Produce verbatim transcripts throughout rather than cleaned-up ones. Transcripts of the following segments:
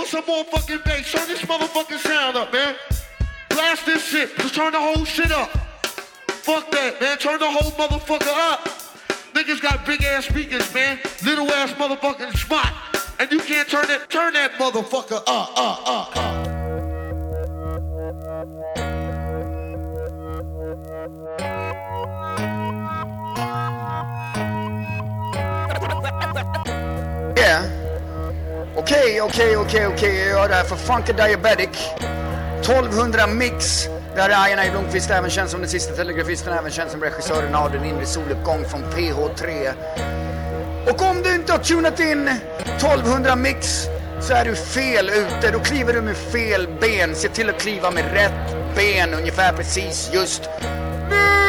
some more fucking bass. Turn this motherfucking sound up, man. Blast this shit. Just turn the whole shit up. Fuck that, man. Turn the whole motherfucker up. Niggas got big ass speakers, man. Little ass motherfucking spot. And you can't turn it. Turn that motherfucker up, up, up, up. Yeah. Okej, okej, okej, okej. Jag gör det här för Funky Diabetic. tolvhundra mix. Där är Ian Blomqvist, även känd som den sista telegrafisten, även känd som regissören av Den inre soluppgång från P H tre. Och om du inte har tunat in tolvhundra mix så är du fel ute. Då kliver du med fel ben. Se till att kliva med rätt ben ungefär precis just nu.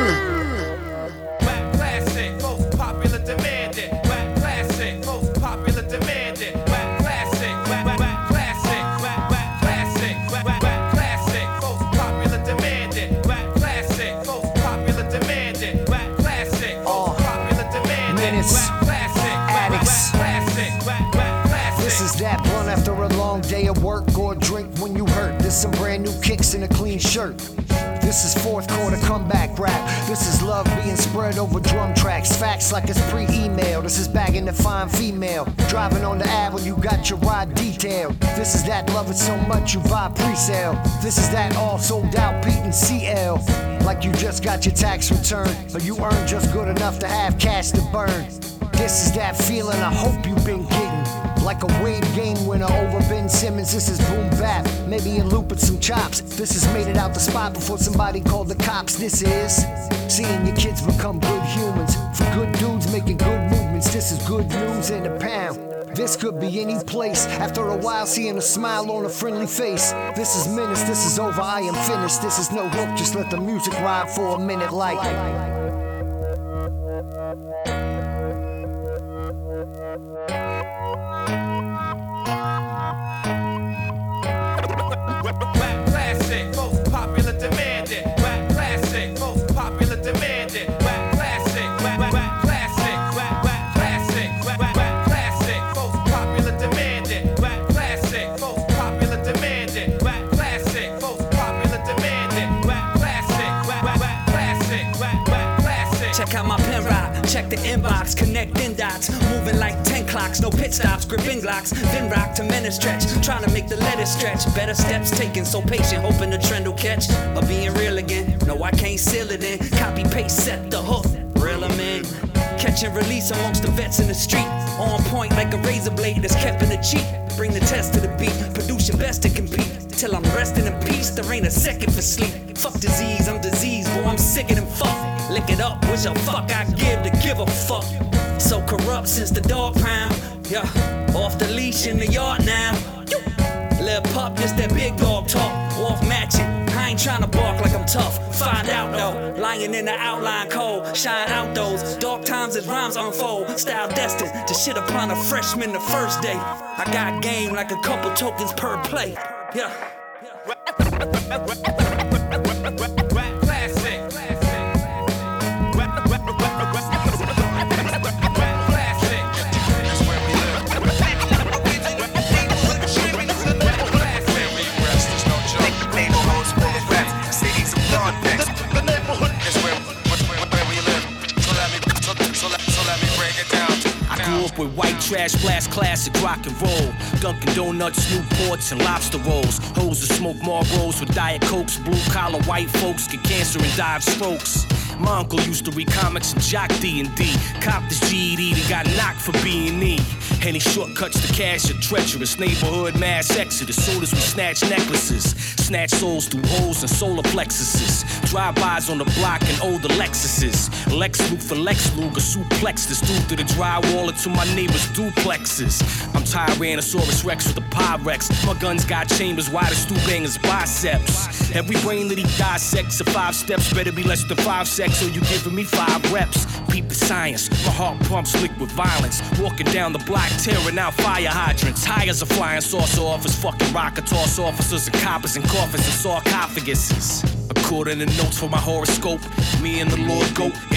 After a long day of work or a drink when you hurt. This some brand new kicks in a clean shirt. This is fourth quarter comeback rap. This is love being spread over drum tracks. Facts like it's pre-email. This is bagging the fine female. Driving on the Ave when you got your ride detailed. This is that love it so much you buy pre-sale. This is that all sold out Pete and C L. Like you just got your tax return, or you earn just good enough to have cash to burn. This is that feeling I hope you've been getting. Like a Wade game winner over Ben Simmons. This is boom bap, maybe a loop with some chops. This has made it out the spot before somebody called the cops. This is seeing your kids become good humans. For good dudes making good movements. This is good news in a pound. This could be any place. After a while seeing a smile on a friendly face. This is menace, this is over, I am finished. This is no hook, just let the music ride for a minute like. Classic, most popular demanded. Rap classic, most popular demanded. Rap classic, rap rap classic, rap rap classic, rap rap classic, most popular demanded. Rap classic, most popular demanded. Rap classic, most popular demanded. Rap classic, rap rap classic, rap rap classic. Check out my pen rap, check the inbox, connecting dots, moving like ten clocks, no pit stops, gripping glocks, then rock to men stretch, trying to make the letters stretch, better steps taken, so patient, hoping the trend will catch, or being real again, no I can't seal it in, copy paste, set the hook, reel them in, catch and release amongst the vets in the street, on point like a razor blade that's kept in the cheek, bring the test to the beat, produce your best to compete, till I'm resting in peace, there ain't a second for sleep, fuck disease, I'm diseased, boy I'm sicker than fuck, lick it up, wish a fuck I give to give a fuck. So corrupt since the dog pound. Yeah, off the leash in the yard now. Little pup, just that big dog talk. Off matching. I ain't tryna bark like I'm tough. Find out though. Lying in the outline cold. Shine out those dark times as rhymes unfold. Style destined to shit upon a freshman the first day. I got game like a couple tokens per play. Yeah. Rap classic. With white trash, blast classic, rock and roll. Dunkin' Donuts, Newports, and lobster rolls. Hoes that smoke Marlboros with Diet Cokes. Blue collar white folks get cancer and die of strokes. My uncle used to read comics and jock D and D. Copped his G E D, then got knocked for B and E. Any shortcuts to cash are treacherous. Neighborhood mass exodus. Soon as we snatch necklaces. Snatch souls through holes and solar plexuses. Drive-bys on the block and older Lexuses. Lex Luke for Lex Luger. Suplex this dude through the drywall into my neighbor's duplexes. I'm Tyrannosaurus Rex with a Pyrex. My guns got chambers wide as Stu Banger's biceps. Every brain that he dissects of five steps better be less than five sex or you giving me five reps. Peep the science. My heart pumps liquid violence. Walking down the block tearing out fire hydrants. High as a flying saucer office. Fucking rocket toss officers and coppers and coffins and sarcophaguses. According to notes for my horoscope, me and the Lord go in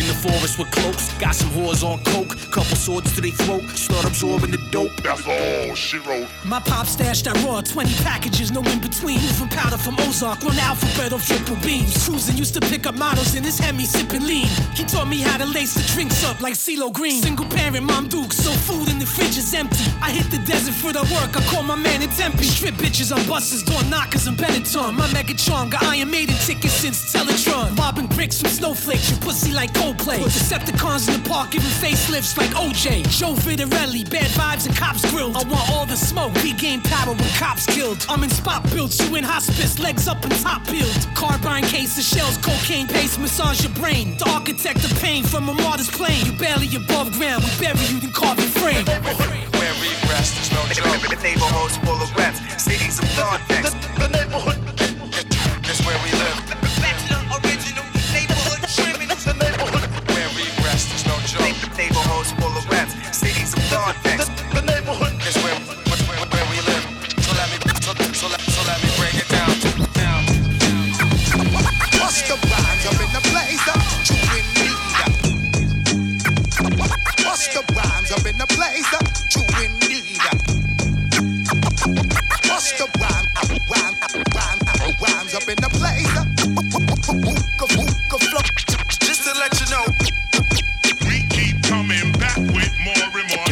the forest with cloaks. Got some whores on coke, couple swords to their throat. Start absorbing the dope. That's all she wrote. My pop stashed that raw, twenty packages, no in between. Moving powder from Ozark, on alphabet of triple beams. Cruising used to pick up models in his Hemi, sipping lean. He taught me how to lace the drinks up like CeeLo Green. Single parent, Mom Duke, so food in the fridge is empty. I hit the desert for the work, I call my man in Tempe. Strip bitches on buses, door knockers and Benetton. My mega charm got Iron Maiden tickets since Teletron. Bobbing bricks from snowflakes, your pussy like Coldplay. Decepticons in the park giving facelifts like O J. Joe Vitarelli, bad vibes and cops grilled. I want all the smoke, we gain power when cops killed. I'm in spot built, you in hospice, legs up and top peeled. Carbine case of shells, cocaine paste, massage your brain. The architect of pain from a martyr's plane. You barely above ground, we bury you in carbon frame. Where we rest, there's no joke. The neighborhood's full of reps, cities of thought next. The neighborhood, that's where we live. Bachelor original, neighborhood criminals. The neighborhood, where we rest, there's no joke. The neighborhood's full of reps, cities of thought next. The neighborhood, that's where, where, where we live. So let me, so, so, let, so let me break it down, down. Bust the rhymes up in the place, you in need. Bust the rhymes up in the place, you in need. Bust the rhyme, rhyme, rhyme, rhymes up in the place. Hookah, hookah, flow. Just to let you know, We keep coming back with more and more.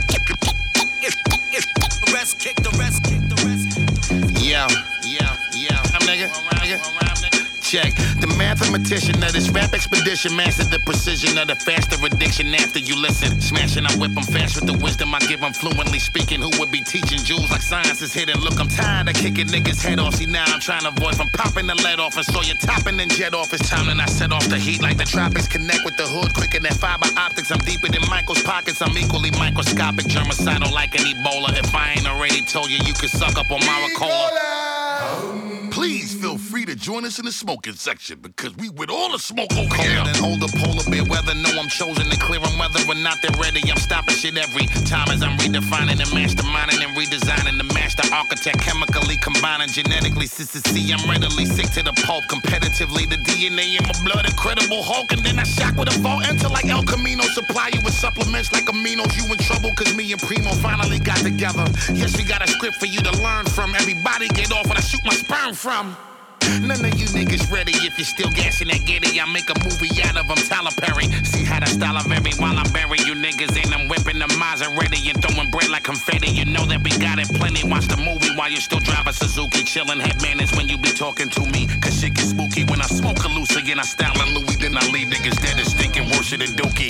the rest kick, the rest kick, the rest. Yeah, yeah, yeah. I'm nigga, nigga. Check. The mathematician of this rap expedition mastered the precision of the faster addiction after you listen. Smashing, I whip them fast with the wisdom I give them fluently speaking. Who would be teaching jewels like science is hidden? Look, I'm tired of kicking niggas' head off. See, now I'm trying to avoid from popping the lead off. And so you're topping and jet off. It's time and I set off the heat like the tropics. Connect with the hood quicker than fiber optics. I'm deeper than Michael's pockets. I'm equally microscopic, germicidal like an Ebola. If I ain't already told you, you can suck up on Maricola. Please feel free to join us in the smoking section because we with all the smoke over here. Colder than older polar bear weather. Know I'm chosen to clear them whether or not they're ready. I'm stopping shit every time as I'm redefining and masterminding and redesigning the master architect. Chemically combining genetically. Sister C, I'm readily sick to the pulp. Competitively, the D N A in my blood, incredible Hulk. And then I shock with a vault enter like El Camino. Supply you with supplements like aminos. You in trouble cause me and Primo finally got together. Yes, we got a script for you to learn from. Everybody get off when I shoot my sperm from. None of you niggas ready if you're still gassing that giddy. I make a movie out of them, Tyler Perry. See how the style of every while I bury you niggas in. I'm whipping the Maserati and throwing bread like confetti. You know that we got it plenty. Watch the movie while you still drive a Suzuki. Chillin' head manners when you be talking to me. Cause shit get spooky when I smoke a loose again. I style a Louis, then I leave niggas dead and stinking worse than Dookie.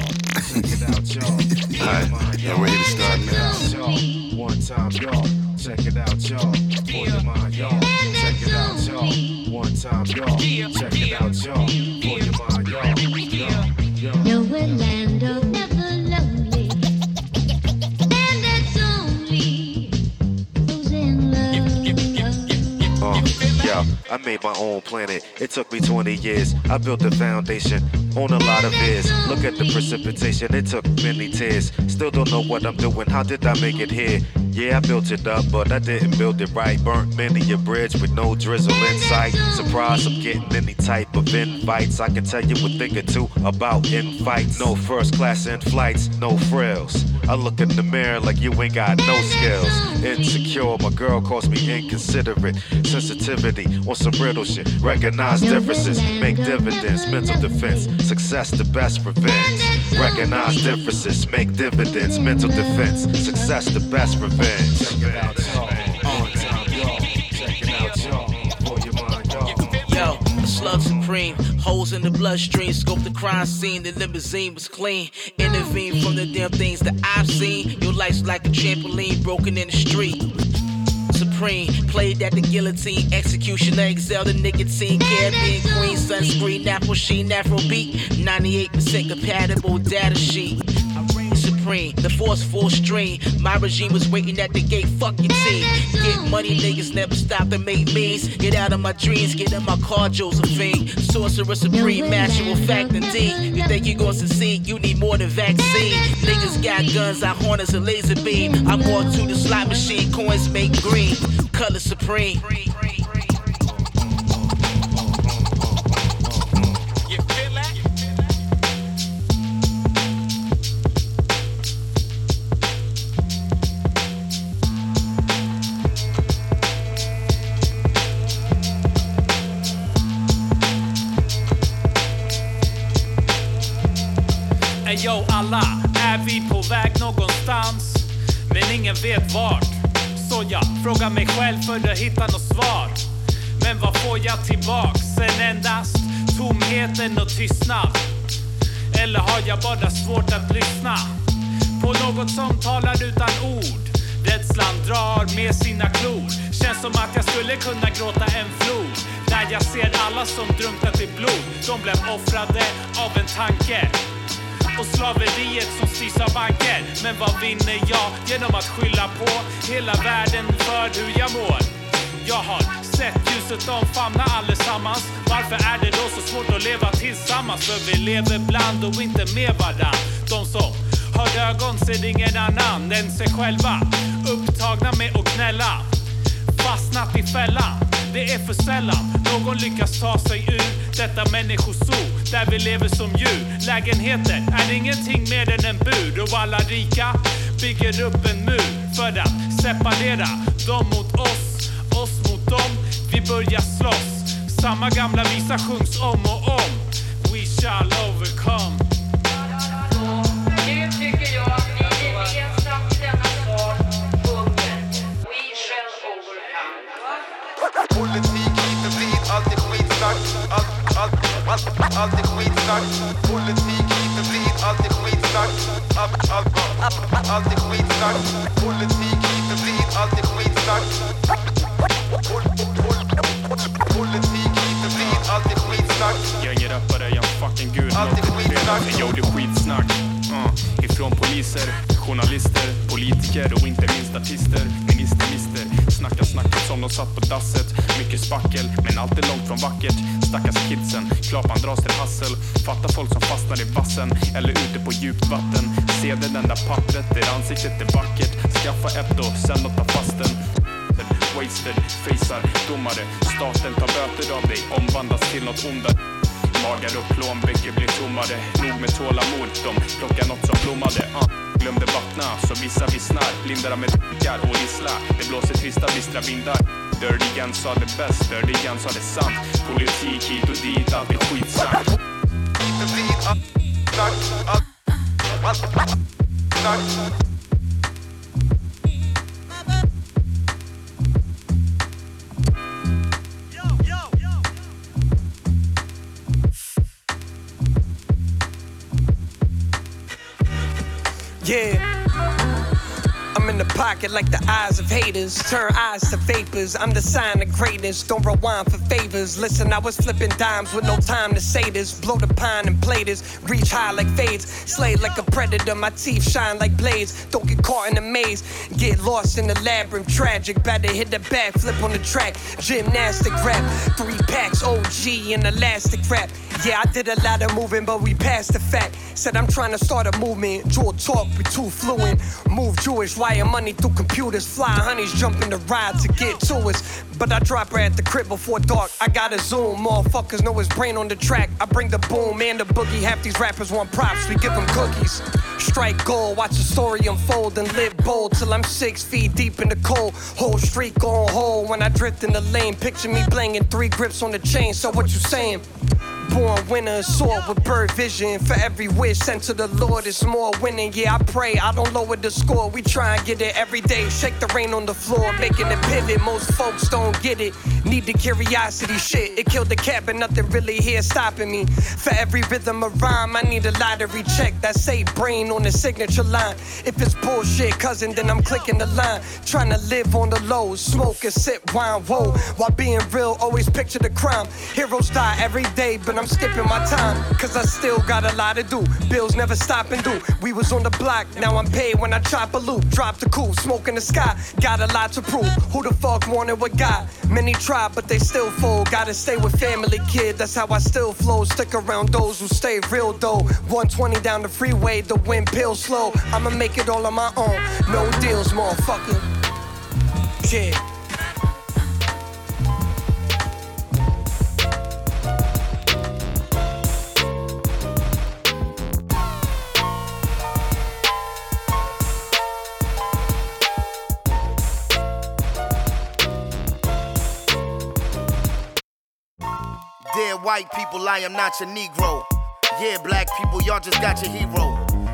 Alright, y'all ready to start now? One time, y'all. Check it out, y'all. For your mind, y'all. Check it out, y'all. One time, y'all. Check it out, y'all. For your mind, y'all. Nowhere land of never lonely, and it's only who's in love. Uh, yeah, I made my own planet. It took me twenty years. I built the foundation on a lot of years. Look at the precipitation. It took many tears. Still don't know what I'm doing. How did I make it here? Yeah, I built it up, but I didn't build it right. Burnt many a bridge with no drizzle in sight. Surprised I'm getting any type of invites. I can tell you a thing or two about infights. No first class in flights, no frills. I look in the mirror like you ain't got no skills. Insecure, my girl calls me inconsiderate. Sensitivity on some brittle shit. Recognize differences, make dividends. Mental defense, success the best revenge. Recognize differences, make dividends. Mental defense, success the best revenge. Check it out, y'all. One time, y'all. Check it out, y'all. For your mind, y'all. Yo, slug supreme, holes in the bloodstream. Scope the crime scene, the limousine was clean. Intervene from the damn things that I've seen. Your life's like a trampoline broken in the street. Supreme, played at the guillotine, executioner, excel the nicotine, Caribbean queen, sunscreen, Afro sheen, Afro beat, ninety-eight percent compatible data sheet. Supreme, the force full stream. My regime was waiting at the gate. Fuck your team. Get money, niggas never stop to make means. Get out of my dreams, get in my car, Josephine. Sorcerer supreme, natural fact indeed. You think you gon' succeed? You need more than vaccine. Niggas got guns, I harness a laser beam. I'm more to the slot machine, coins make green. Color supreme. väg någonstans, men ingen vet vart. Så jag frågar mig själv för att hitta något svar. Men vad får jag tillbaks? En endast tomheten och tystnad. Eller har jag bara svårt att lyssna på något som talar utan ord? Rädslan drar med sina klor. Känns som att jag skulle kunna gråta en flod. När jag ser alla som drunknat i blod. De blev offrade av en tanke. Och slaveriet som styrs av banker. Men vad vinner jag genom att skylla på hela världen för hur jag mår? Jag har sett ljuset omfamna allesammans. Varför är det då så svårt att leva tillsammans? För vi lever bland och inte med varann. De som har ögon ser ingen annan än sig själva. Upptagna med att knälla. Fastnat i fällan. Det är för sällan någon lyckas ta sig ur detta människosoo där vi lever som djur. Lägenheter är ingenting mer än en bur. Och alla rika bygger upp en mur för att separera dem mot oss, oss mot dem. Vi börjar slåss. Samma gamla visa sjungs om och om. We shall overcome. Nu tycker jag att vi gemensamt i denna sal sjunger We shall overcome. Politik hit och dit, alltid skitsnack. Allt, allt, allt, alltid skitsnack. Politik hit och dit, alltid skitsnack. Allt, allt, allt, alltid skitsnack. Politik hit och dit, alltid skitsnack. Politik hit och dit, alltid skitsnack. Gängerappare, jag är fucking gud. Alltid skitsnack. Jo, det är skitsnack. Uh, ifrån poliser, journalister, politiker och inte minst artister, minister-mister. Snacka snacket som de satt på dasset. Mycket spackel, men allt är långt från vackert. Stackars kidsen, klapan dras till hassel. Fatta folk som fastnar i vassen eller ute på djupt vatten. Se det enda pappret där ansiktet är vackert. Skaffa ett och sen låta fast den. Wasted, facear, domare. Staten tar böter av dig, omvandlas till något ondare. Magar och plånböcker blir tommare. Nog med tålamod, de plockar något som blommade. uh. Glömde vattna, så vissa vissnar. Lindar med d***ar och vissla. Det blåser trista, bistra vindar. Dirty Gun sa det bäst, Dirty Gun sa det sant. Politik hit och dit, allt är skitsnack. Hit och dit, allt, snack, allt, allt, allt, snack. Yeah, I'm in the pocket like the eyes of haters. Turn eyes to vapors, I'm the sign of greatness. Don't rewind for favors. Listen, I was flipping dimes with no time to say this. Blow the pine and play this. Reach high like fades. Slay like a predator, my teeth shine like blades. Don't get caught in the maze. Get lost in the labyrinth, tragic. Better hit the backflip on the track. Gymnastic rap, three packs, O G and elastic rap. Yeah, I did a lot of moving, but we passed the fact. Said I'm trying to start a movement. Draw talk, we too fluent. Move Jewish, wire money through computers. Fly honeys, jump in the ride to get to us. But I drop her at the crib before dark. I gotta zoom, motherfuckers know his brain on the track. I bring the boom and the boogie. Half these rappers want props, we give them cookies. Strike gold, watch the story unfold and live bold till I'm six feet deep in the cold. Whole streak on hold when I drift in the lane. Picture me blinging, three grips on the chain. So what you saying? Born winner, sword with bird vision. For every wish sent to the Lord, it's more winning. Yeah, I pray, I don't lower the score. We try and get it every day. Shake the rain on the floor, making it pivot. Most folks don't get it. Need the curiosity shit. It killed the cat, but nothing really here stopping me. For every rhythm of rhyme, I need a lottery check that say brain on the signature line. If it's bullshit, cousin, then I'm clicking the line. Trying to live on the low, smoke and sip wine, whoa. While being real, always picture the crime. Heroes die every day, but I'm skipping my time, cause I still got a lot to do. Bills never stop and do. We was on the block, now I'm paid when I chop a loop. Drop the coupe, smoke in the sky. Got a lot to prove. Who the fuck wanted what got? Many try, but they still fold. Gotta stay with family, kid. That's how I still flow. Stick around those who stay real though. one twenty down the freeway, the wind pills slow. I'ma make it all on my own. No deals, motherfucker. Yeah. Dear white people, I am not your Negro. Yeah, black people, y'all just got your hero.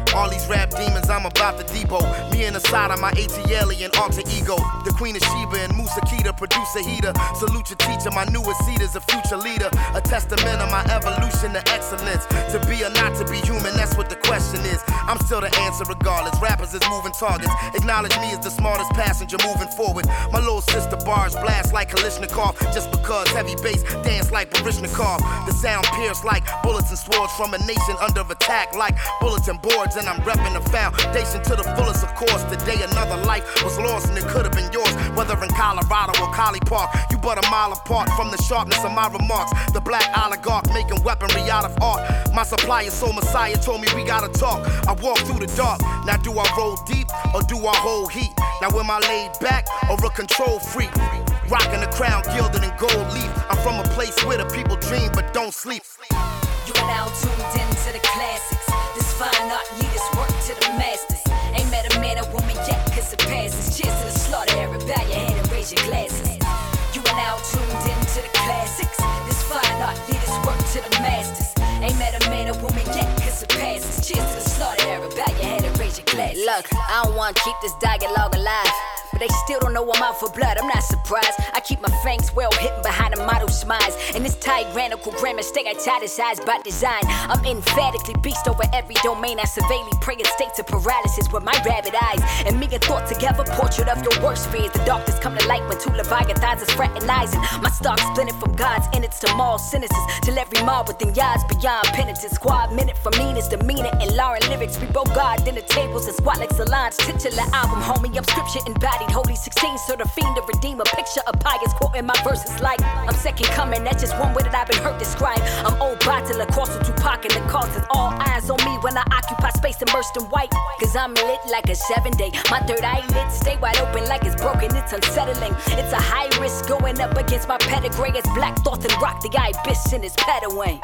All these rap demons, I'm about to depot. Me and the side of my AT alien alter ego. The Queen of Sheba and Musa Kita, producer heater. Salute your teacher, my newest seed is a future leader. A testament of my evolution to excellence. To be or not to be human, that's what the question is. I'm still the answer regardless. Rappers is moving targets. Acknowledge me as the smartest passenger moving forward. My little sister bars blast like Kalishnikov. Just because heavy bass dance like Barishnikov. The sound pierce like bullets and swords from a nation under attack like bulletin boards. And I'm repping the foundation to the fullest, of course. Today another life was lost and it could have been yours. Whether in Colorado or Collie Park, you but a mile apart from the sharpness of my remarks. The black oligarch making weaponry out of art. My supplier, soul messiah, told me we gotta talk. I walk through the dark. Now do I roll deep or do I hold heat? Now am I laid back or a control freak? Rocking the crown gilded in gold leaf. I'm from a place where the people dream but don't sleep. You are now tuned into the classics. This fine art leaders work to the masters. Ain't met a man or woman yet cause it passes. Cheers to the slaughter era. Bow your head and raise your glasses. You are now tuned into the classics. This fine art leaders work to the masters. Ain't met a man or woman yet cause it passes. Cheers to the slaughter era. Bow your head and raise your glasses. Look, I don't wanna keep this dialogue alive, but they still don't know I'm out for blood, I'm not surprised. I keep my fangs well hidden behind a model smiles. And this tyrannical grammar stay italicized by design. I'm emphatically beast over every domain. I surveilly prey in states of paralysis with my rabbit eyes. And me and thought together, portrait of your worst fears. The darkness come to light when two leviathans is fraternizing. My stock splinted from God's innards to mall sentences. Till every mob within yards beyond penitence. Squad minute for meanest demeanor and Lauren lyrics. We both guard dinner tables and squat like salons. Titular album, homie, I'm scripture embodied. Holy sixteen, so the fiend to redeem a picture of pious quoting my verses like I'm second coming, that's just one way that I've been hurt described. I'm old bottle, across with Tupac and the causes. All eyes on me when I occupy space immersed in white. Cause I'm lit like a seven day. My third eyelid stay wide open like it's broken, it's unsettling. It's a high risk going up against my pedigree. It's black thoughts and rock the ibis in his pet away.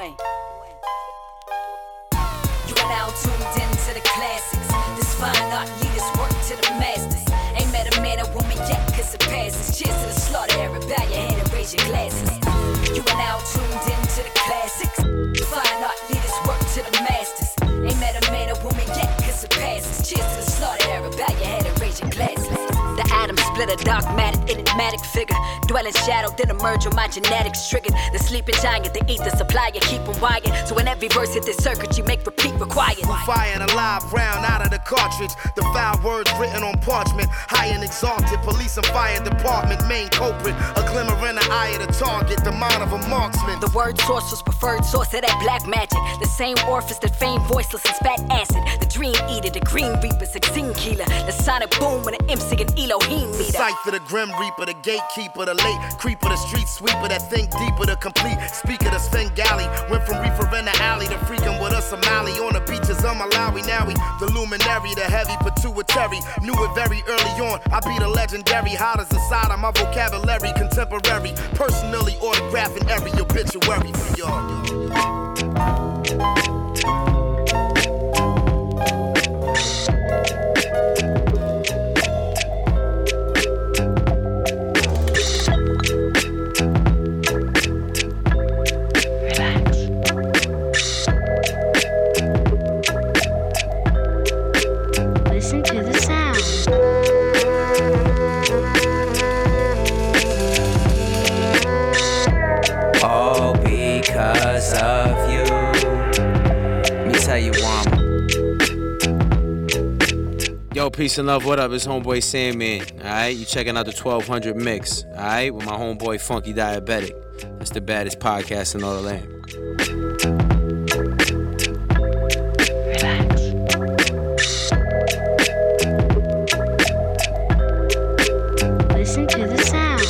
You are now tuned into the classics. This fine art leaders work to the masters. Ain't met a man or woman yet cause it passes. Cheers to the slaughter era. Bow your head and raise your glasses. You are now tuned into the classics. Fine art leaders work to the masters. Ain't met a man or woman yet cause it passes. Cheers to the slaughter era. Bow your head and raise your glasses. The atom split a dogmatic, enigmatic figure. Dwell in shadow, then emerge when my genetics triggered. The sleeping giant, the ether supplier, keep them wired. So when every verse hit this circuit, you make repeat required. Who fired a live round out of the cartridge? The foul words written on parchment. High and exalted, police and fire department. Main culprit, a glimmer in the eye of the target. The mind of a marksman. The word source was preferred source of that black magic. The same orifice that famed voiceless and spat acid. The dream eater, the green reaper, sixteen killer. The sonic boom when an M C and Elohim meet up. Cypher, the grim reaper, the gatekeeper, the late creeper, the street sweeper that think deeper, the complete speaker, the Svengali. Went from reefer in the alley to freaking with a Somali on the beaches of Malawi. Now we the luminary, the heavy pituitary. Knew it very early on. I be the legendary, hot as the side of my vocabulary, contemporary. Personally autographing every obituary for y'all. Listen to the sound. All because of you. Let me tell you one. Yo, peace and love, what up? It's homeboy Sandman. Alright, you checking out the twelve hundred mix. Alright, with my homeboy Funky Diabetic. That's the baddest podcast in all the land. Listen to the sound.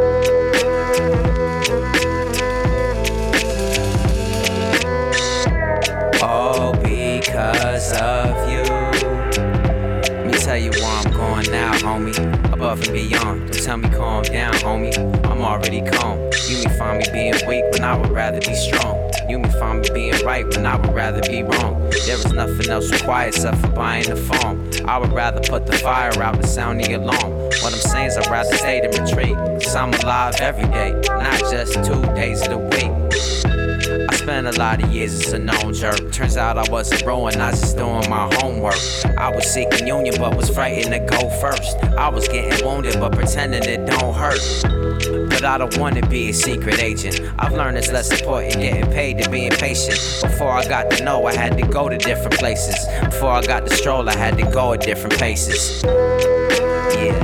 All because of you. Let me tell you why I'm going now, homie. Above and beyond. Don't tell me calm down, homie. I'm already calm. You may find me being weak when I would rather be strong. You may find me being right when I would rather be wrong. There is nothing else required except for buying the phone. I would rather put the fire out and sound the alarm. What I'm saying is I'd rather stay than retreat. Cause I'm alive every day, not just two days of the week. I spent a lot of years as a known jerk. Turns out I wasn't growing, I was just doing my homework. I was seeking union but was frightened to go first. I was getting wounded but pretending it don't hurt. But I don't want to be a secret agent. I've learned it's less important getting paid than being patient. Before I got to know, I had to go to different places. Before I got to stroll, I had to go at different paces. Yeah.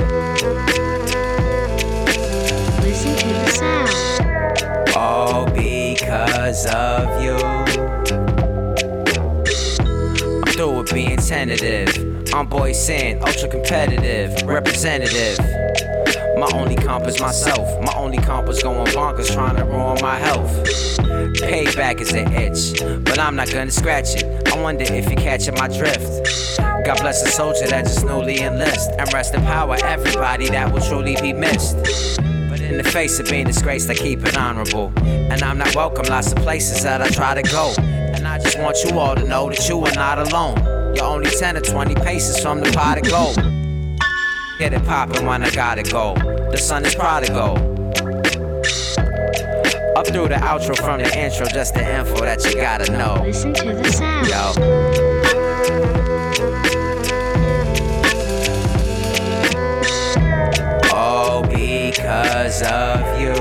Listen to the sound. All because of you. I'm through with being tentative. I'm boy saying ultra competitive, representative. My only comp is myself. My only comp is going bonkers trying to ruin my health. Payback is an itch, but I'm not gonna scratch it. I wonder if you're catching my drift. God bless a soldier that just newly enlist. And rest in power everybody that will truly be missed. But in the face of being disgraced, I keep it honorable. And I'm not welcome lots of places that I try to go. And I just want you all to know that you are not alone. You're only ten or twenty paces from the pot of gold. Get it poppin' when I gotta go. The sun is prodigal. Up through the outro from the intro, just the info that you gotta know. Listen to the sound. Yo. All because of you.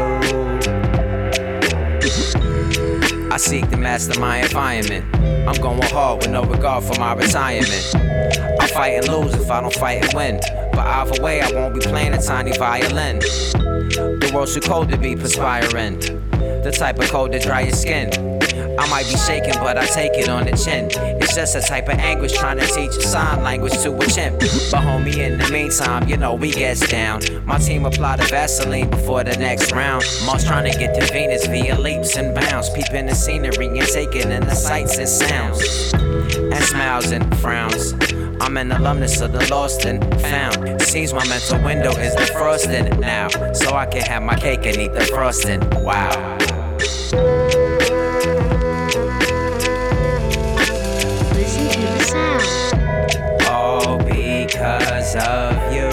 I seek to master my environment. I'm going hard with no regard for my retirement. I fight and lose if I don't fight and win. But either way, I won't be playing a tiny violin. The world's too cold to be perspiring. The type of cold to dry your skin. I might be shaking, but I take it on the chin. It's just a type of anguish trying to teach a sign language to a chimp. But homie, in the meantime, you know we gets down. My team apply the Vaseline before the next round. Most trying to get to Venus via leaps and bounds. Peeping the scenery and taking in the sights and sounds. And smiles and frowns. I'm an alumnus of the lost and found. Seems my mental window is defrosted now. So I can have my cake and eat the frosting. Wow. Listen to the sound. All because of you.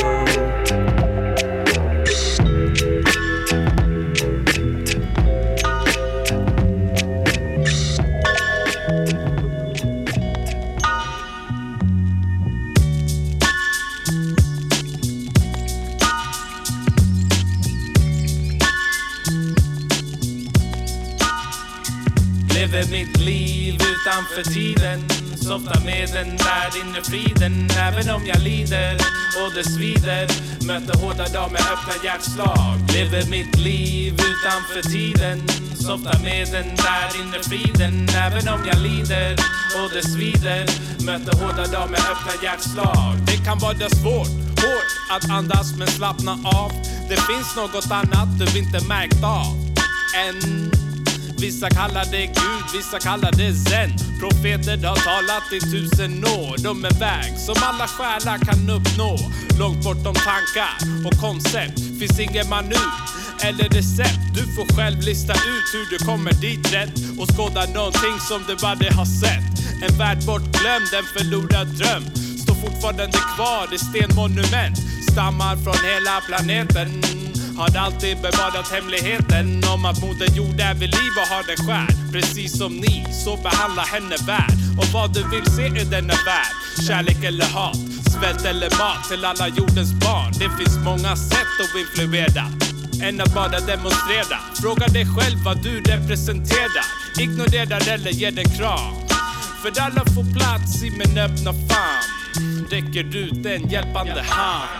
Lever mitt liv utanför tiden. Softar med den där inre friden. Även om jag lider och det svider. Möter hårda dagar med öppna hjärtslag. Lever mitt liv utanför tiden. Softar med den där inre friden. Även om jag lider och det svider. Möter hårda dagar med öppna hjärtslag. Det kan vara svårt, hårt att andas men slappna av. Det finns något annat du inte märkt av än. Vissa kallar det Gud, vissa kallar det Zen. Profeter har talat i tusen år. De är väg som alla själar kan uppnå. Långt bortom tankar och koncept. Finns ingen manu eller recept. Du får själv lista ut hur du kommer dit rätt. Och skåda någonting som du aldrig har sett. En värld bortglömd, en förlorad dröm. Står fortfarande kvar i stenmonument. Stammar från hela planeten. Har alltid bevarat hemligheten om att moder jord är vid liv och har den skär. Precis som ni, så behandla henne värd. Och vad du vill se i denna värld. Kärlek eller hat, svält eller mat till alla jordens barn. Det finns många sätt att influera än att bara demonstrera. Fråga dig själv vad du representerar. Ignorera eller ge den kram. För alla får plats i min öppna famn. Räcker ut en hjälpande hand.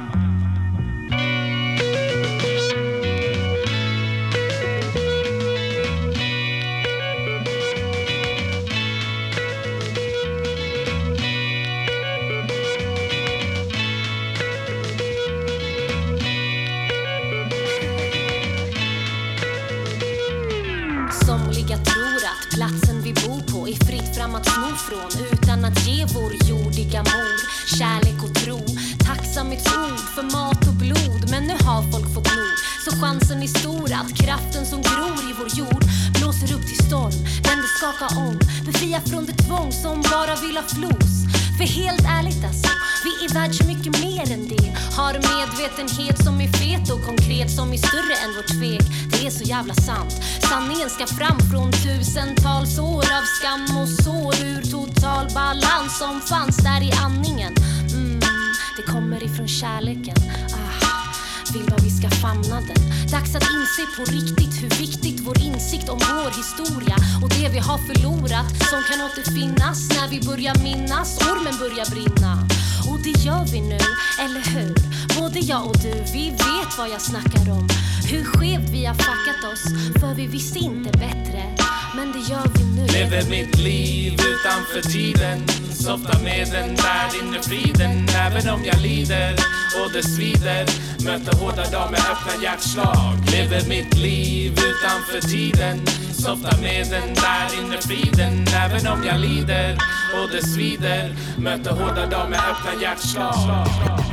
Somliga tror att platsen vi bor på är fritt fram att sno från utan att ge vår jordiga mor kärlek och tro, tacksamhetsord för mat och blod. Men nu har folk fått nog, så chansen är stor att kraften som gror i vår jord blåser upp till storm, den det skakar om, befria från det tvång som bara vill ha flos. För helt ärligt alltså, vi är värd så mycket mer än det. Har medvetenhet som är fet och konkret, som är större än vårt tvek. Det är så jävla sant. Sanningen ska fram från tusentals år av skam och sår, ur total balans som fanns där i andningen. Mm, det kommer ifrån kärleken. Ah, vill vad vi ska famna den. Dags att inse på riktigt hur viktigt vår insikt om vår historia och det vi har förlorat som kan återfinnas när vi börjar minnas. Ormen börjar brinna. Och det gör vi nu, eller hur? Både jag och du, vi vet vad jag snackar om. Hur skevt vi har fuckat oss, för vi visste inte bättre. Men det gör vi nu. Lever mitt liv utanför tiden, softar med den där inre friden. Även om jag lider och det svider, möter hårda dagar med öppna hjärtslag. Lever mitt liv utanför tiden, softar med den där inre friden. Även om jag lider och det svider, möter hårda dagar med öppna hjärtslag.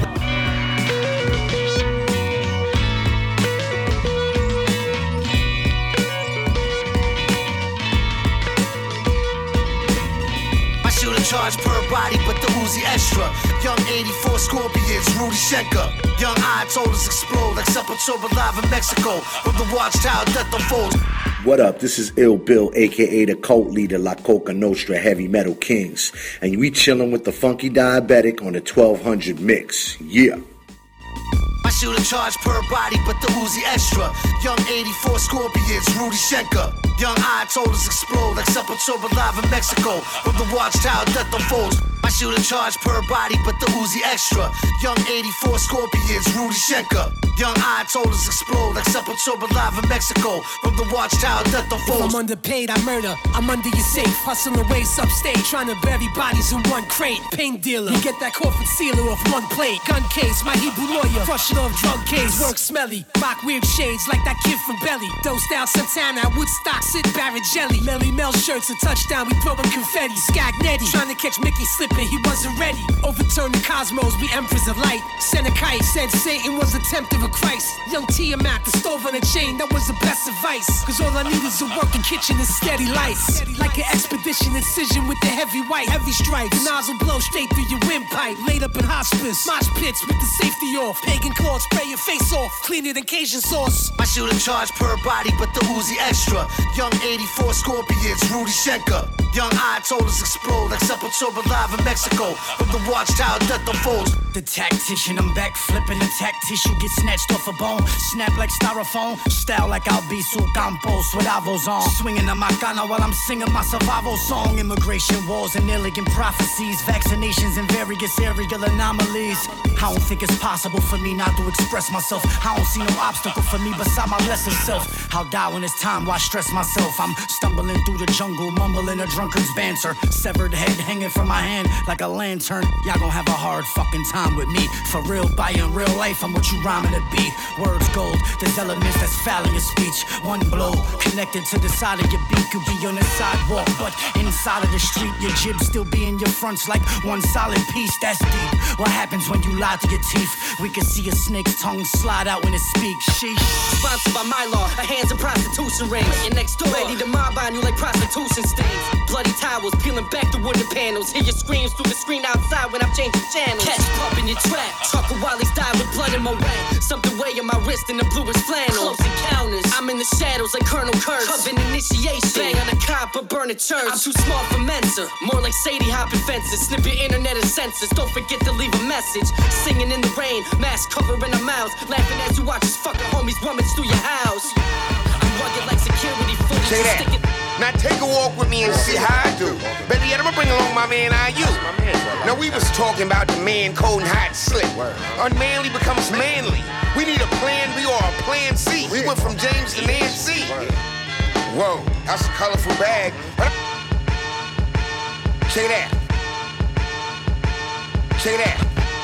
Charge per body, but the Uzi extra. Young eighty-four Scorpions, Rudy Schenker. Young eye told us explode like Sepultura live in Mexico. From the watchtower, death unfolds. What up? This is Ill Bill, aka the cult leader, La Coca Nostra Heavy Metal Kings, and we chillin' with the Funky Diabetic on the twelve hundred mix. Yeah. I shoot a charge per body, but the Uzi extra. Young eighty-four Scorpions, Rudy Schenker. Young eye told us explode like Sepultura live in Mexico. From the watchtower, death unfolds. I shoot a charge per body, but the Uzi extra. Young eighty-four Scorpions, Rudy Schenker. Young eye told us explode like Sepultura live in Mexico. From the watchtower, death unfolds. If I'm underpaid, I murder. I'm under your safe, hustling ways upstate, trying to bury bodies in one crate. Pain dealer, you get that coffin sealer off one plate. Gun case, my Hebrew lawyer, crushing off drug case. Work smelly, rock weird shades like that kid from Belly. Dosed out Santana, Woodstock, sit Barrett Jelly. Melly Mel shirts a touchdown, we throwing confetti. Skagnetti, trying to catch Mickey slipping, he wasn't ready. Overturn the cosmos, we emperors of light. Sent a kite, said Satan was a tempter of Christ. Young Tiamat, the stove on a chain, that was the best advice. Cause all I need is a working kitchen and steady lights. Like an expedition incision with the heavy white, heavy stripes. The nozzle blow straight through your windpipe. Laid up in hospice, mosh pits with the safety off. Pagan claws, spray your face off, clean it in Cajun sauce. I shoot a charge per body, but the Uzi extra. Young eighty-four Scorpions, Rudy Schenker. Young eye told us explode like Sepultura live in Mexico. From the watchtower, death unfolds. The tactician, I'm back flipping the tack tissue, get snatched off a bone. Snap like styrofoam, style like Albizu Campos with avos on. Swinging a macana while I'm singing my survival song. Immigration wars and elegant prophecies, vaccinations and various aerial anomalies. I don't think it's possible for me not to express myself. I don't see no obstacle for me beside my lesser self. I'll die when it's time, why stress myself? I'm stumbling through the jungle, mumbling a drunkard's banter. Severed head hanging from my hand like a lantern. Y'all gon' have a hard fucking time with me. For real, by in real life, I'm what you rhyming to be. Words gold, there's elements that's foul in your speech. One blow, connected to the side of your beak. Could be on the sidewalk, but inside of the street, your jib still be in your fronts like one solid piece. That's deep. What happens when you lie to your teeth? We can see a snake's tongue slide out when it speaks. Sheesh. Sponsored by my law, a hands in prostitution ring. You're next door, ready to mob on you like prostitution stings. Bloody towels, peeling back the wooden panels. Hear your screams through the screen outside when I'm changing channels. Catch pup in your trap. Trucker Wally's died with blood in my rap. Something way on my wrist in the bluest flannel. Close encounters. I'm in the shadows like Colonel Kurtz. Coven initiation. Bang on a cop or burn a church. I'm too small for Mensa. More like Sadie hopping fences. Snip your internet and sensors. Don't forget to leave a message. Singing in the rain. Mask covering our mouths. Laughing as you watch his fucking homies rummage through your house. I'm rugged like security footage. Say that. Now take a walk with me and see how I do. Baby, I'm gonna bring along my man I U. Now we was talking about the man cold and hot slick. Unmanly becomes manly. We need a plan B or a plan C. We went from James to Nancy. Whoa, that's a colorful bag. Check it out. Check it out.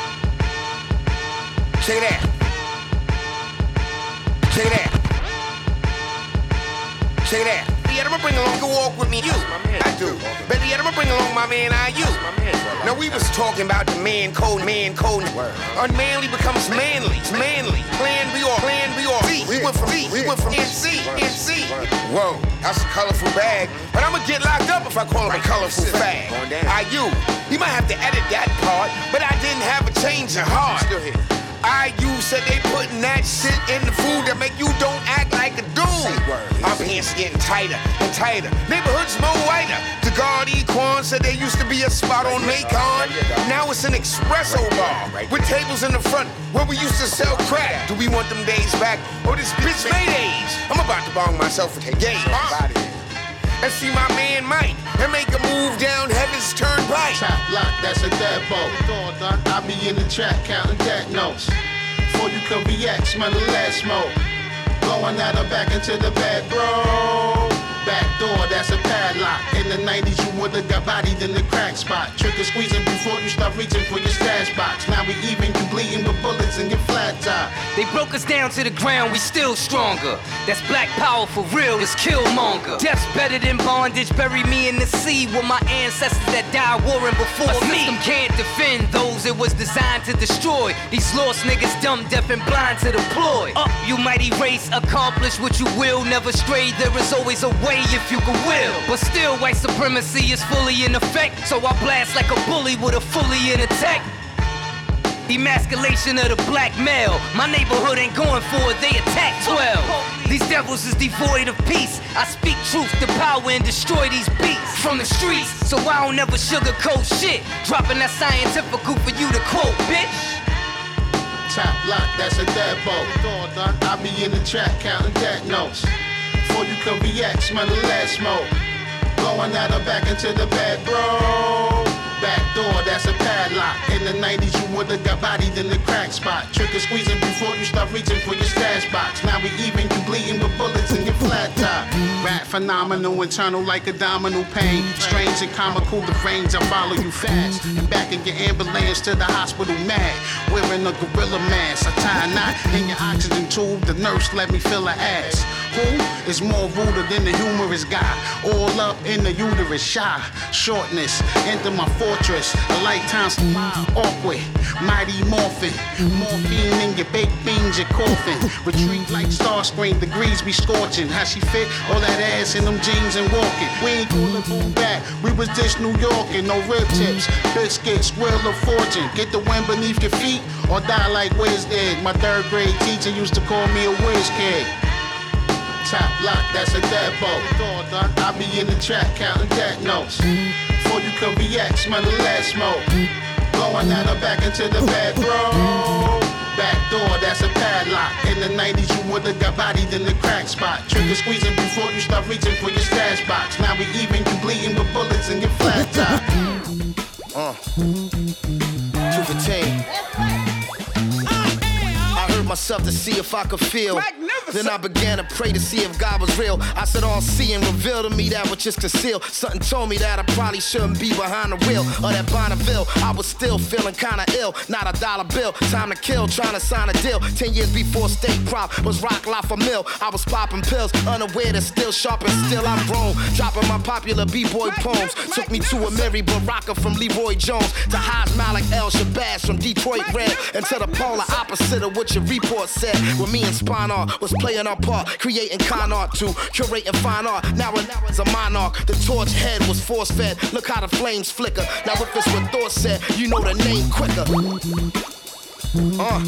Check it out. Check it out. Check it out. yet, I'ma bring along, go walk with me, you. I do. Better yet, I'ma bring along my man, I, you. Now we was talking about the man code, man code. Unmanly becomes manly, manly. Plan we all, plan we all. We went from B, we went from N C, N C. Whoa, that's a colorful bag. But I'ma get locked up if I call him a colorful fag. I, you. You might have to edit that part, but I didn't have a change of heart. I, you said they putting that shit in the food that make you don't act like a dude. Our pants getting tighter and tighter. Neighborhoods more whiter. The guard Equan said there used to be a spot on Macon. Now it's an espresso bar with tables in the front where we used to sell crack. Do we want them days back or this bitch made age? I'm about to bong myself a game. And see my man Mike and make a move down Heaven's Turnpike. Top lock, that's a deadbolt. I be in the track counting dead notes. Before you can react, smell the last smoke. Going out or back into the bed, bro. Back door, that's a padlock. In the nineties, you would've got bodied in the crack spot. Trigger squeezing before you start reaching for your stash box. Now we even, you bleeding with bullets and get flat top. They broke us down to the ground, we still stronger. That's black power for real, it's Killmonger. Death's better than bondage, bury me in the sea with my ancestors that died warring before a me. A system can't defend those it was designed to destroy. These lost niggas dumb, deaf, and blind to deploy. Up, you mighty race, accomplish what you will. Never stray, there is always a way if you can will. But still, white supremacy is fully in effect. So I blast like a bully with a fully in attack. Emasculation of the black male. My neighborhood ain't going for it, they attack twelve. These devils is devoid of peace. I speak truth to power and destroy these beats from the streets. So I don't ever sugarcoat shit. Dropping that scientifical for you to quote, bitch. Top lock, that's a deadbolt. I be in the track counting dead notes. Before you can react, smell the last smoke. Going out or back into the bed, bro. Back door, that's a padlock. In the nineties, you would've got bodied in the crack spot. Trigger squeezing before you start reaching for your stash box. Now we even, you bleeding with bullets in your flat top. Rap phenomenal, internal like abdominal pain. Strange and comical, the range, I follow you fast. And back in your ambulance to the hospital mad. Wearing a gorilla mask, I tie a knot in your oxygen tube. The nurse let me feel her ass. Who is more ruder than the humorous guy? All up in the uterus, shy, shortness, enter my fortress, a lifetime smile, awkward, mighty morphin, morphine in your baked beans, your coffin, retreat like Starscream, degrees be scorching, how she fit, all that ass in them jeans and walking, we ain't gonna move back, we was this New York and no rib tips, biscuits, wheel of fortune, get the wind beneath your feet, or die like Wiz did, my third grade teacher used to call me a whiz kid. Top lock, that's a deadbolt. I be in the track counting dead notes. Before you can react, smell the last smoke. Going out or back into the bed, bro. Back door, that's a padlock. In the nineties, you would've got bodied in the crack spot. Trigger squeezing before you start reaching for your stash box. Now we even, you bleeding with bullets in your flat top. Uh. Two for ten. I heard myself to see if I could feel. Then I began to pray to see if God was real. I said all seeing revealed to me that was just concealed. Something told me that I probably shouldn't be behind the wheel of that Bonneville. I was still feeling kinda ill, not a dollar bill. Time to kill, trying to sign a deal. Ten years before State Prop was Rock La for Mill. I was popping pills, unaware that still sharp and still I'm grown. Dropping my popular B-boy poems. Took me to a Mary Baraka from Leroy Jones. To Haas Malik El Shabazz from Detroit Red. And to the polar opposite of what your report said. When me and Spinar was playing our part, creating con art to curating fine art. Now and now as a monarch, the torch head was force fed. Look how the flames flicker. Now if it's what Thor said, you know the name quicker. Uh.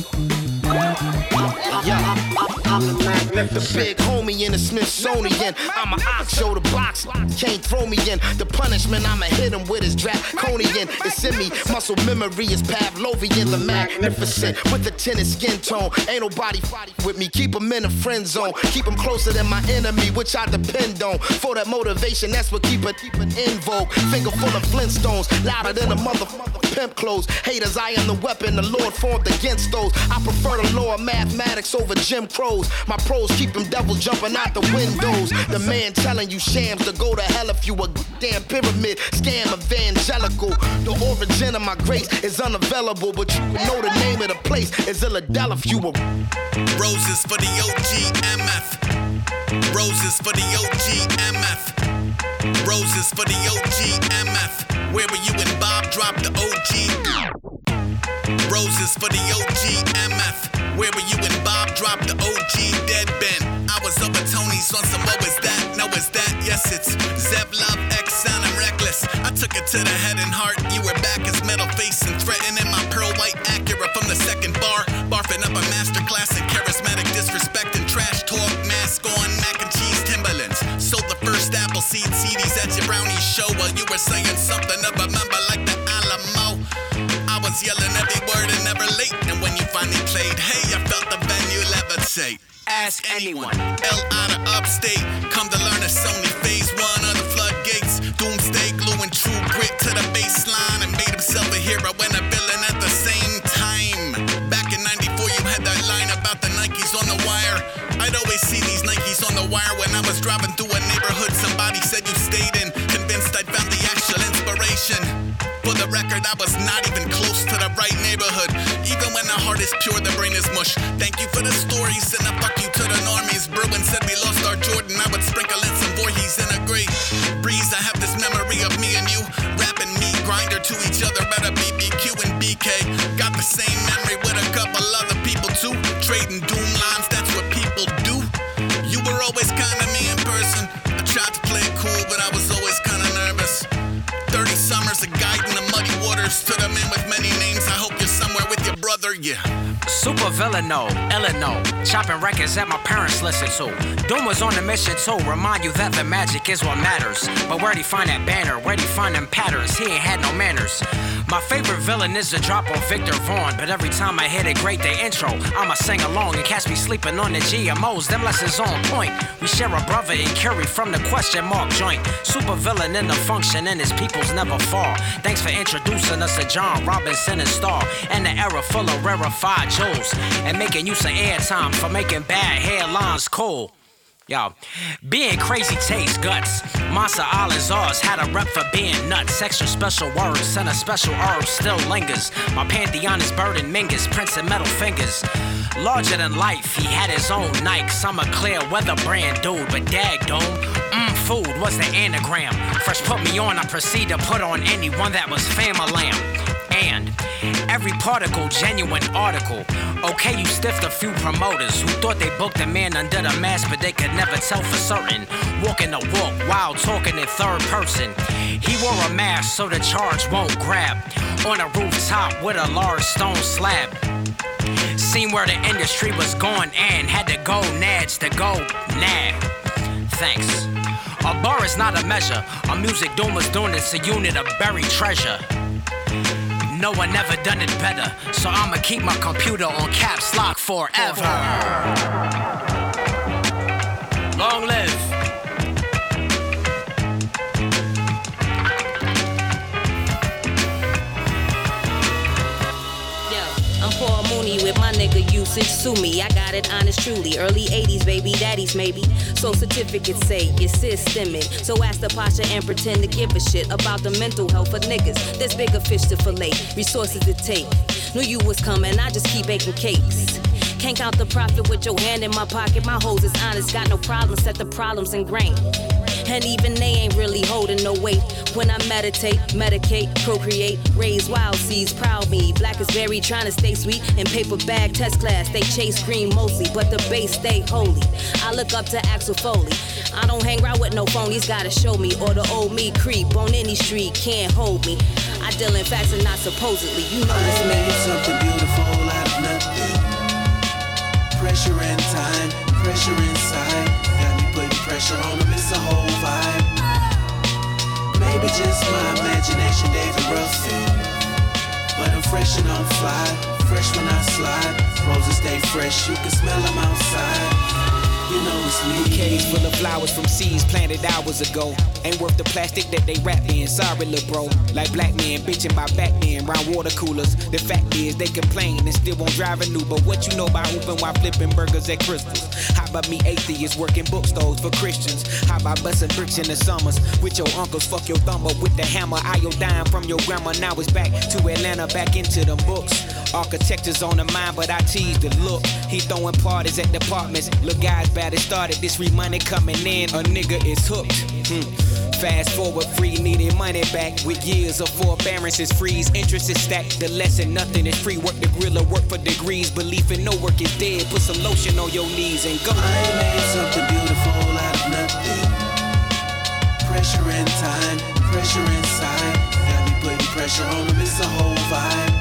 Yeah. The big homie in the Smithsonian. I'm an ox, show the box. Can't throw me in. The punishment, I'ma hit him with his draconian. It's in me. Muscle memory is Pavlovian. The magnificent with the tinted skin tone. Ain't nobody fighting with me. Keep him in a friend zone. Keep him closer than my enemy, which I depend on. For that motivation, that's what keep it, keep it in vogue. Finger full of Flintstones. Louder than a motherfucker pimp clothes. Haters, I am the weapon the Lord formed against those. I prefer the law of mathematics over Jim Crows. My pros keep them devils jumping out the windows. The man telling you shams to go to hell if you a damn pyramid scam evangelical. The origin of my grace is unavailable, but you know the name of the place is Philadelphia. Roses for the O G M F. Roses for the O G M F. Roses for the O G M F. Where were you when Bob dropped the O G? Roses for the O G M F. Where were you when Bob dropped the O G Dead Ben? I was up at Tony's on some what was that? No, is that? Yes, it's Zev Love X Sound, I'm reckless. I took it to the head and heart. You were back as metal face and threatening my pearl white Acura from the second bar. Barfing up a masterclass in charismatic disrespect and trash talk. Mask on, mac and cheese Timberlands. Sold the first Appleseed C Ds at your brownie show while you were saying something of a member like the Alamo. I was yelling every word and never late. And when you finally played, hey, I felt the venue levitate. Ask anyone. L out of upstate. Come to learn it's only phase one of the floodgates. Doomsday gluing true grit to the baseline and made himself a hero and a villain at the same time. Back in ninety-four, you had that line about the Nikes on the wire. I'd always see these Nikes on the wire when I was driving through a neighborhood somebody said you stayed in. Convinced I'd found the actual inspiration. For the record, I was not even close to the right neighborhood. Even when the heart is pure, the brain is mush. Thank you for the stories and a fuck you to the normies. Bruin said we lost our Jordan. I would sprinkle in some Voorhees and agree. Breeze, I have this memory of me and you rapping meat grinder to each other at a B B Q and B K. Got the same memory with a couple other people too. Trading doom lines, that's what people do. You were always kind of me in person. I tried to play it cool, but I was always kind of nervous. thirty summers of guiding the muddy waters to the man with many names. I hope you're somewhere with your brother, yeah. Super villaino, Illino, chopping records that my parents listened to. Doom was on a mission to remind you that the magic is what matters. But where'd he find that banner? Where'd he find them patterns? He ain't had no manners. My favorite villain is the drop on Victor Vaughn. But every time I hit a great day intro, I'ma sing along and catch me sleeping on the G M Os. Them lessons on point. We share a brother in Curie from the question mark joint. Super villain in the function and his peoples never fall. Thanks for introducing us to John Robinson and Starr. And the era full of rarefied jewels. And making use of airtime for making bad headlines cool. Yo, being crazy takes guts. Monster Island's ours had a rep for being nuts. Extra special words and a special herb still lingers. My pantheon is Bird and Mingus, Prince and Metal Fingers. Larger than life, he had his own Nikes. I'm a clear weather brand dude, but dag dome. Mmm, food was the anagram. Fresh put me on, I proceed to put on anyone that was fam-a-lamb. And every particle, genuine article. Okay, you stiffed a few promoters who thought they booked a man under the mask, but they could never tell for certain. Walking the walk while talking in third person. He wore a mask so the charge won't grab. On a rooftop with a large stone slab. Seen where the industry was going and had to go nads to go nag. Thanks. A bar is not a measure. A music doom is doing it's a unit of buried treasure. No one ever done it better, so I'ma keep my computer on caps lock forever. Long live. I'm Paul Mooney with my nigga usage. Sue me, I got it honest truly. Early eighties, baby, daddies maybe. So certificates say you're systemic. So ask the Pasha and pretend to give a shit about the mental health of niggas. There's bigger fish to fillet, resources to take. Knew you was coming, I just keep baking cakes. Can't count the profit with your hand in my pocket. My hoes is honest, got no problems, set the problems in grain. And even they ain't really holding no weight. When I meditate, medicate, procreate, raise wild seeds, proud me. Black is berry, trying to stay sweet. In paper bag test class, they chase green mostly, but the base stay holy. I look up to Axel Foley. I don't hang around with no phonies, gotta show me. Or the old me creep on any street, can't hold me. I deal in facts and not supposedly. You know this me. Something beautiful out of nothing. Pressure and time, pressure inside. Got me putting pressure on them, it's a whole vibe. Maybe just my imagination, David Ruffin. But I'm fresh and I'm fly, fresh when I slide. Roses stay fresh, you can smell them outside. You know it's me. Bouquets full of flowers from seeds planted hours ago. Ain't worth the plastic that they wrap in. Sorry, lil' bro. Like black men bitching by Batman round water coolers. The fact is they complain and still won't drive a new. But what you know about hooping while flipping burgers at Crystals? Hop but me atheists working bookstores for Christians. How about busting bricks in the summers with your uncles? Fuck your thumb up with the hammer. Iodine from your grandma. Now it's back to Atlanta, back into the books. Architecture's on the mind, but I tease the look. He throwing parties at departments. Look, guys, bad it started. This free money coming in. A nigga is hooked. Hmm. Fast forward, free needed money back. With years of forbearances, freeze, interest is stacked. The lesson, nothing is free. Work the grill or work for degrees. Belief in no work is dead. Put some lotion on your knees and go. I made something beautiful out of nothing. Pressure in time, pressure inside. Got me putting pressure on them, it's a whole vibe.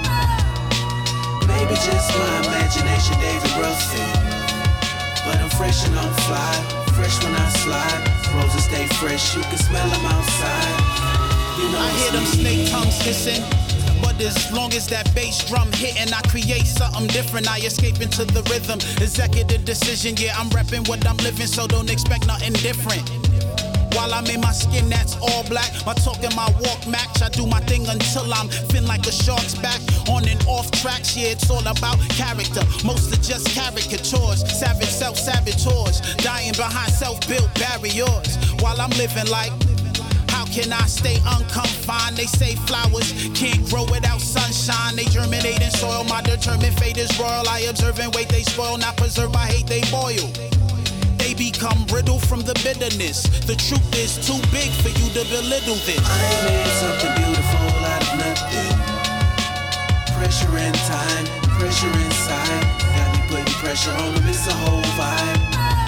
Maybe just my imagination, David Ruffin. But I'm fresh and I'm fly, fresh when I slide. Roses stay fresh, you can smell them outside. You know I hear them snake tongues hissing. But as long as that bass drum hitting, I create something different. I escape into the rhythm. Executive decision, yeah, I'm repping what I'm living, so don't expect nothing different. While I'm in my skin that's all black, my talk and my walk match. I do my thing until I'm fin like a shark's back. On and off tracks, yeah, it's all about character. Most are just caricatures, savage self-saboteurs, dying behind self-built barriers. While I'm living like, how can I stay unconfined? They say flowers can't grow without sunshine. They germinate in soil, my determined fate is royal. I observe and wait, they spoil, not preserve, I hate, they boil. They become brittle from the bitterness. The truth is too big for you to belittle this. I made something beautiful out of nothing. Pressure in time, pressure inside. Got me putting pressure on them, it's a whole vibe.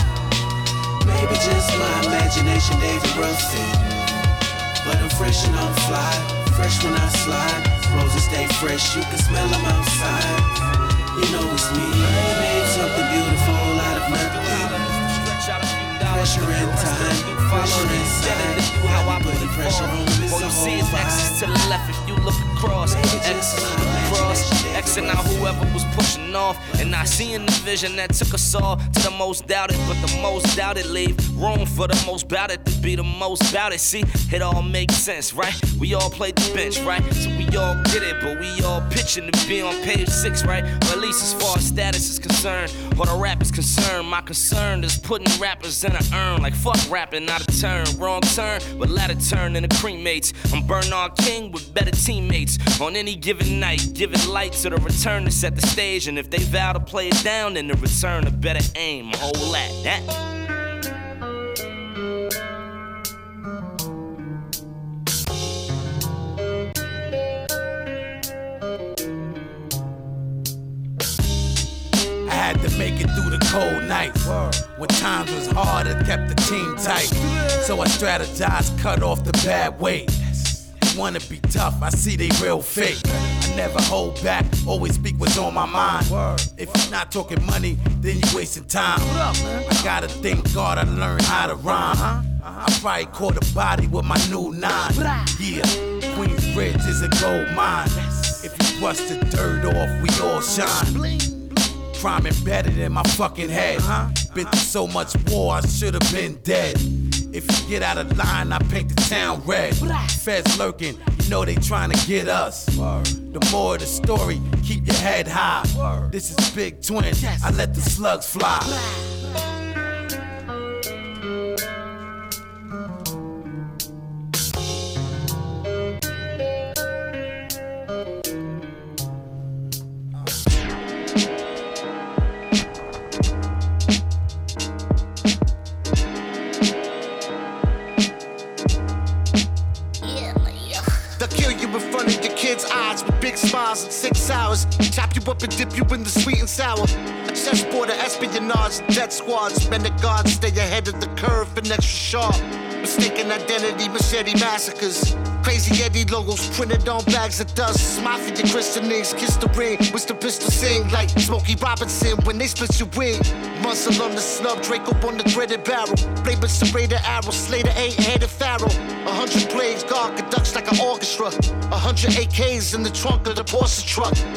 Maybe just my imagination, David Ruffin. But I'm fresh and I'm fly, fresh when I slide. Roses stay fresh, you can smell them outside. You know it's me. I made something beautiful out of nothing. Pressure in time, pressure inside. How I put the pressure on them, it's all you see is X's to the left if you look across. X's across, Xing out whoever was pushing off. And I see in the vision that took us all to the most doubted, but the most doubted leave room for the most bout-it to be the most bout it. See, it all makes sense, right? We all played the bench, right? So we all get it, but we all pitching to be on page six, right? Or at least as far as status is concerned, or the rap is concerned. My concern is putting rappers in an urn. Like fuck rapping, not a turn. Wrong turn, but ladder turn into cremates. I'm Bernard King with better teammates. On any given night, giving light to the return to set the stage. And if they vow to play it down, then the return to better aim. Whole at that. I had to make it through the cold nights. When times was hard, it kept the team tight. So I strategized, cut off the bad weight. Wanna be tough, I see they real fake. I never hold back, always speak what's on my mind. If you're not talking money, then you wasting time. I gotta thank God I learned how to rhyme. I probably caught a body with my new nine. Yeah, Queensbridge is a gold mine. If you brush the dirt off, we all shine. Crime embedded in my fucking head. Been through so much war, I should've been dead. If you get out of line, I paint the town red. Feds lurking, you know they trying to get us. The more of the story, keep your head high. This is Big Twin, I let the slugs fly. Smiles in six hours, chop you up and dip you in the sweet and sour. Chessboard of espionage, death squads, men the guards stay ahead of the curve and extra sharp. Mistaken identity, machete massacres. Crazy Eddie logos printed on bags of dust. Mafia christenings, kiss the ring, wish the pistol sing like Smokey Robinson when they split your wing. Muscle on the snub, Draco on the threaded barrel. Blade with serrated arrow, Slater eight-headed pharaoh. A hundred blades, guard conducts like an orchestra. A hundred A Ks in the trunk of the Porsche truck.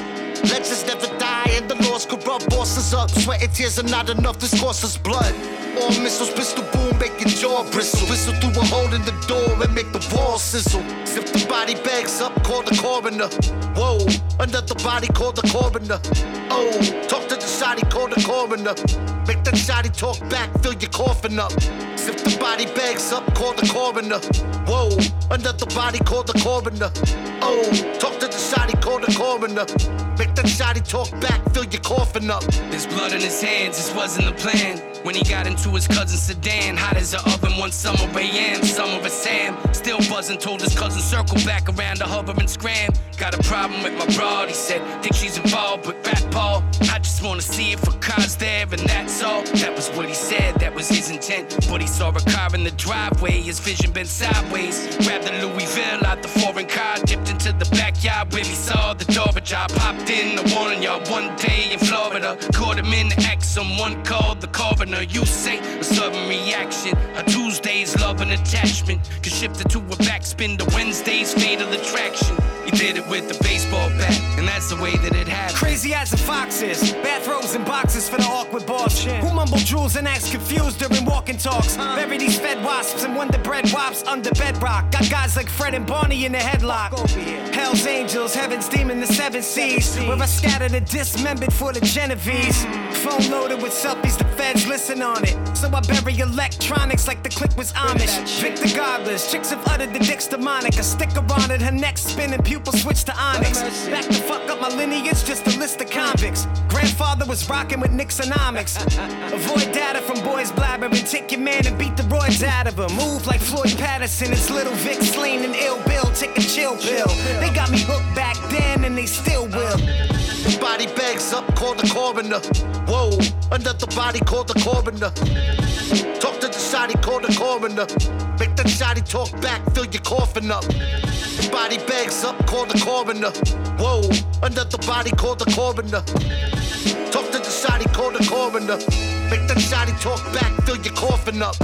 Legends never die and the laws corrupt bosses up. Sweat and tears are not enough, this costs us blood. All missiles, pistol boom, make your jaw bristle. Whistle through a hole in the door and make the wall sizzle. If the body bags up, call the coroner. Whoa, another body, call the coroner. Oh, talk to the shotty, call the coroner. Make that shotty talk back, fill your coffin up. If the body bags up, call the coroner. Whoa, another body, call the coroner. Oh, talk to the shotty, call the coroner. Make that shotty talk back, fill your coffin up. There's blood in his hands, this wasn't the plan. When he got into his cousin's sedan, hot as an oven one summer, A M, summer of Sam. Still buzzing, told his cousin circle back around to hover and scram. Got a problem with my broad, he said, think she's involved with Rat Paul. I just wanna see it for cars there, and that's all. That was what he said, that was his intent. But he saw a car in the driveway, his vision bent sideways. Grabbed the Louisville out the foreign car, dipped into the backyard where he saw the door. But I popped in, I warning y'all, one day in Florida. Caught him in the act, someone called the coroner. You say a sudden reaction, a Tuesday's love and attachment could shift it to a backspin to Wednesday's fatal attraction. He did it with a baseball bat, and that's the way that it happened. Crazy as the foxes, bathrobes and boxes for the awkward boss. Who mumble jewels and acts confused during walking talks. Bury these fed wasps and wonder bread wops under bedrock. Got guys like Fred and Barney in the headlock. Hell's angels, heaven's demon, the seven seas. Where I scattered a dismembered for the Genovese. Phone loaded with selfies, the feds listen on it. So I bury electronics like the click was Amish. Victor Godless, chicks have uttered the dick's demonic. A sticker on it, her neck spinning, pupils switch to onyx. Back the fuck up my lineage, just a list of convicts. Grandfather was rocking with Nixonomics. Avoid data from boys blabbering. Take your man and beat the roids out of him. Move like Floyd Patterson, it's Little Vic slain and Ill Bill. Take a chill pill. They got me hooked back then and they still will. Body bags up, call the coroner. Whoa, another body, call the coroner. Talk to the shotty, call the coroner. Make that shotty talk back, fill your coffin up. Body bags up, call the coroner. Whoa, another body, call the coroner. Talk to the shotty, call the coroner. Make that shotty talk back, fill your coffin up.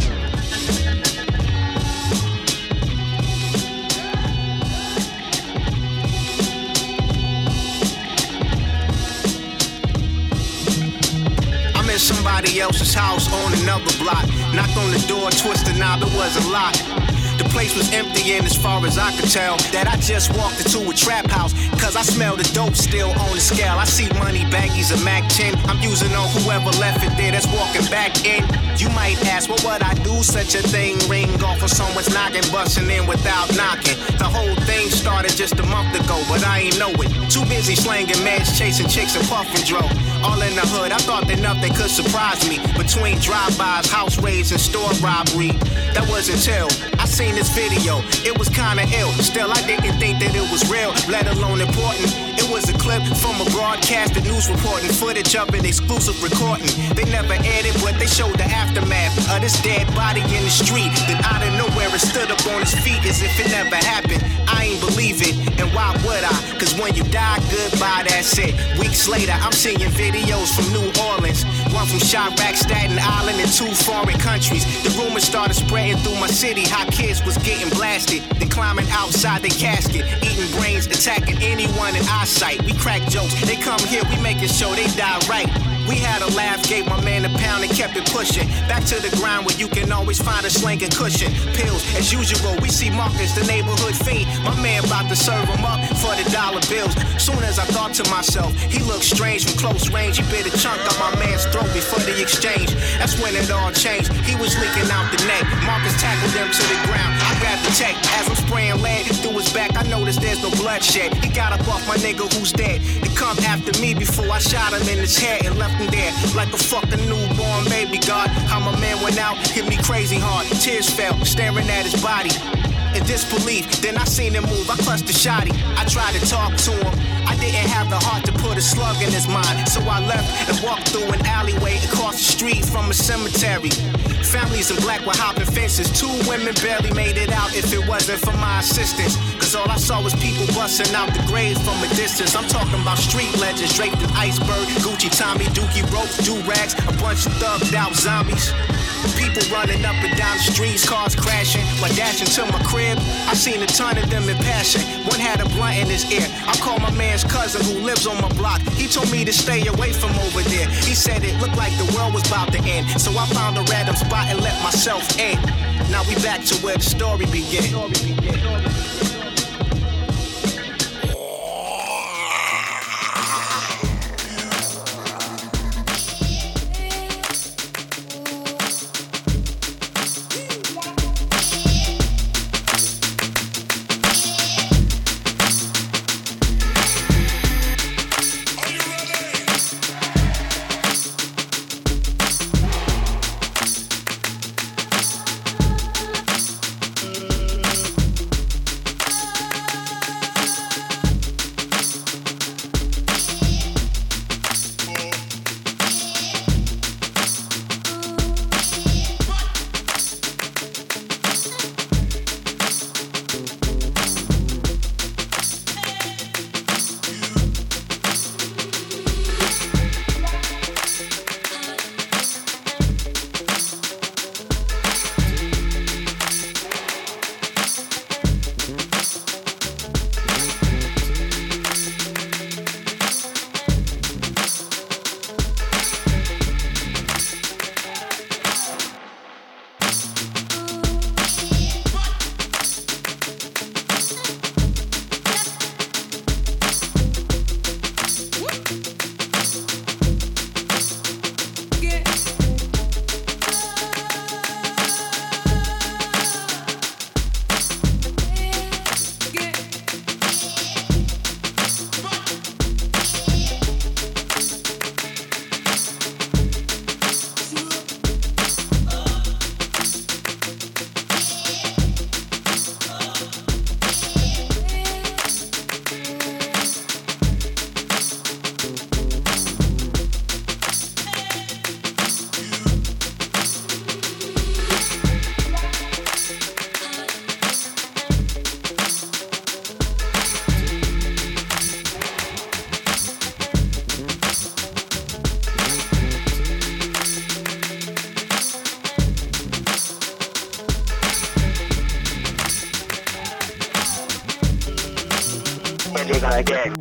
Somebody else's house on another block. Knocked on the door, twisted knob, it was a lock. The place was empty and as far as I could tell that I just walked into a trap house. Cause I smell the dope still on the scale. I see money baggies, a Mac ten. I'm using on whoever left it there that's walking back in. You might ask, what would I do? Such a thing ring off of someone's noggin, busting in without knocking. The whole thing started just a month ago, but I ain't know it. Too busy slanging meds, chasing chicks and puffing dro. All in the hood, I thought that nothing could surprise me. Between drive-bys, house raids, and store robbery. That wasn't till I seen this video. It was kinda ill. Still, I didn't think that it was real, let alone important. It was a clip from a broadcasted news reporting, footage of an exclusive recording. They never aired it, but they showed the aftermath of this dead body in the street. Then out of nowhere, it stood up on its feet as if it never happened. I ain't believe it, and why would I? Cause when you die, goodbye, that's it. Weeks later, I'm seeing videos from New Orleans, one from Chirac, Staten Island, and two foreign countries. The rumors started spreading through my city, how kids was getting blasted, then climbing outside the casket, eating brains, attacking anyone in eyesight. We crack jokes, they come here, we making sure they die right. We had a laugh, gave my man a pound and kept it pushing. Back to the ground where you can always find a slinging cushion. Pills, as usual, we see Marcus, the neighborhood fiend. My man about to serve him up for the dollar bills. Soon as I thought to myself, he looked strange from close range. He bit a chunk of my man's throat before the exchange. That's when it all changed. He was leaking out the neck. Marcus tackled him to the ground. I grabbed the tech. As I'm spraying lead through his back, I noticed there's no bloodshed. He got up off my nigga who's dead to come after me before I shot him in his head and left there like a fucking newborn baby. God, how my man went out, hit me crazy hard. Tears fell, staring at his body in disbelief. Then I seen him move, I clutched the shotty. I tried to talk to him, I didn't have the heart to put a slug in his mind. So I left and walked through an alleyway across the street from a cemetery. Families in black were hopping fences. Two women barely made it out if it wasn't for my assistance. Cause all I saw was people busting out the graves from a distance. I'm talking about street legends draped in iceberg, Gucci, Tommy, Dookie, ropes, do-rags, a bunch of thugged out zombies. People running up and down the streets, cars crashing. While dashing to my crib, crib, I seen a ton of them in passing. One had a blunt in his ear. I called my man's cousin who lives on my block. He told me to stay away from over there. He said it looked like the world was about to end. So I found a random spot and let myself in. Now we back to where the story began. Again.